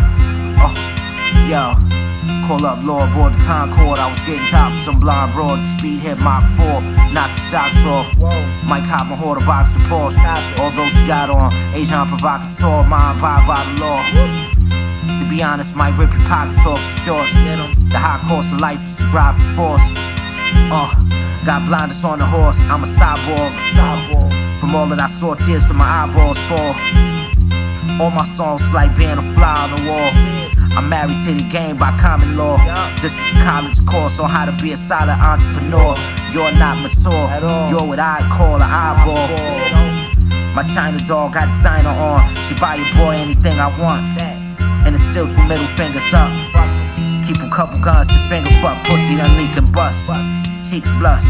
Speaker 14: yo, call up law aboard the Concorde. I was getting top of some blind broad. Speed hit Mach 4, knock your socks off. Mike hop my hoarder box to Porsche. Although she got on Asian provocateur, mind abide by the law. To be honest, might rip your pockets off your shorts. The high cost of life is to drive for force. Got blinders on the horse, I'm a cyborg. From all that I saw, tears from my eyeballs fall. All my songs like being a fly on the wall. I'm married to the game by common law. This is a college course on how to be a solid entrepreneur. You're not mature, you're what I call an eyeball. My China doll got designer on. She buy your boy anything I want. And it's still 2 middle fingers up. Keep a couple guns to finger fuck. Pussy that leak and bust. Cheeks blush.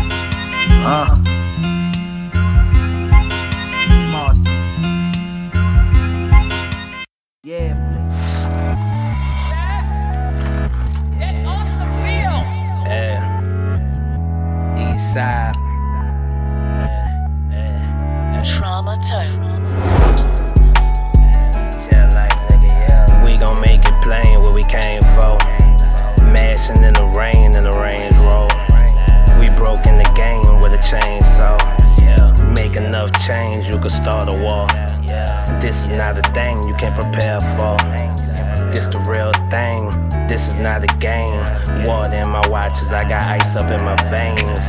Speaker 13: Yeah,
Speaker 15: Get off the field.
Speaker 13: East side.
Speaker 15: Trauma tone.
Speaker 17: We gon' make it plain what we came for. Mashing in the rain in the Range Rover. We broke in the game with a chainsaw. Make enough change, you could start a war. This is not a thing you can prepare for. This the real thing, this is not a game. Water in my watches, I got ice up in my veins.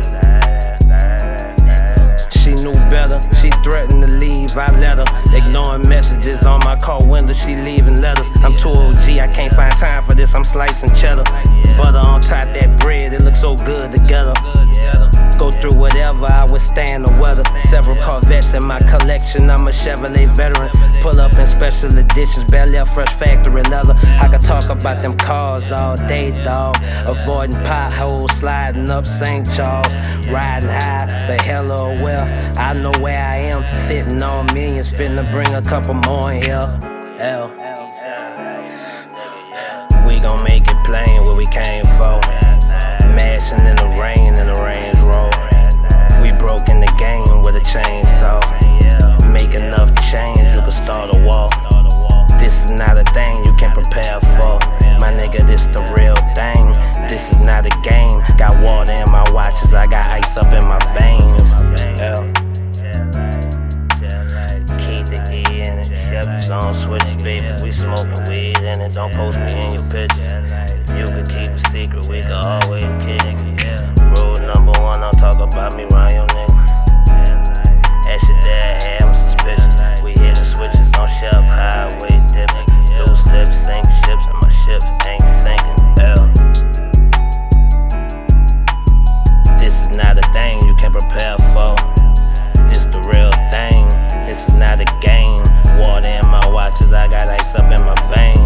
Speaker 17: She knew better, she threatened to leave, I let her. Ignoring messages on my car window, she leaving letters. I'm too OG, I can't find time for this, I'm slicing cheddar. Butter on top that bread, it looks so good together. Go through whatever, I withstand the weather. Several Corvettes in my collection, I'm a Chevrolet veteran. Pull up in special editions, barely a fresh factory leather. I could talk about them cars all day, dawg. Avoiding potholes, sliding up St. Charles. Riding high, but hello, well, I know where I am. Sitting on millions, finna bring a couple more in here. We gon' make it plain what we came for. Mashing in the rain Range Rover. We broke in the game with a chainsaw. Make enough change, you can start a wall. This is not a thing you can prepare for. My nigga, this the real thing. This is not a game. Got water in my watches, I got ice up in my veins. Keep the E in it. Chevys on switches, baby. We smoking weed in it. Don't post me in your pictures. You can keep a secret, we can always kick. Rule number one, don't talk about me around your nigga. Ask your dad, hey, I'm suspicious. We hit the switches on shelf, highway dipping. Loose lips, sink ships, and my ships ain't sinking. This is not a thing you can prepare for. This the real thing. This is not a game. Water in my watches, I got ice up in my veins.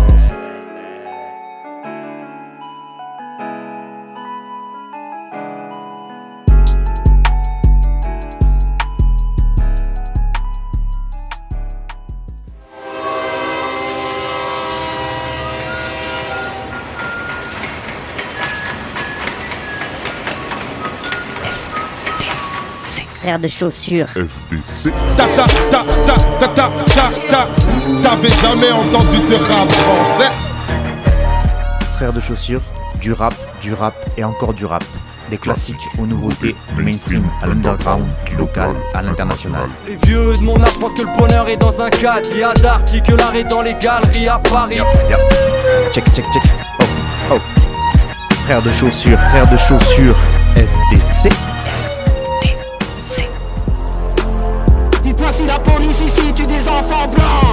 Speaker 1: Frère de chaussures.
Speaker 4: FDC. T'avais jamais entendu de rap français?
Speaker 3: Frère de chaussures, du rap et encore du rap. Des classiques aux nouveautés, du mainstream à l'underground, du local à l'international.
Speaker 5: Les vieux de mon âge pensent que le bonheur est dans un cadre. Il y a d'Arty que l'art est dans les galeries à Paris.
Speaker 3: Check. Oh. Frère de chaussures, FDC.
Speaker 19: Dites-moi si la police ici tue des enfants blancs.